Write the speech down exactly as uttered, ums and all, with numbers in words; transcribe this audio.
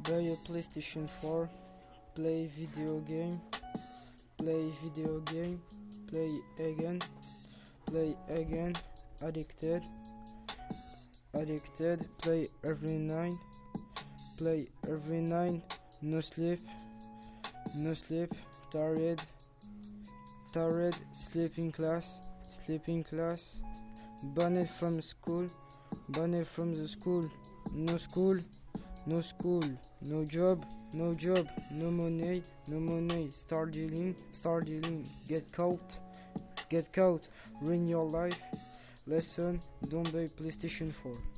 Buy a PlayStation four, play video game, play video game, play again, play again, addicted, addicted, play every night, play every night, no sleep, no sleep, tired, tired, sleeping class, sleeping class, banned from school, banned from the school, no school, no school, no job, no job, no money, no money, start dealing, start dealing, get caught, get caught, ruin your life, lesson, don't buy PlayStation four.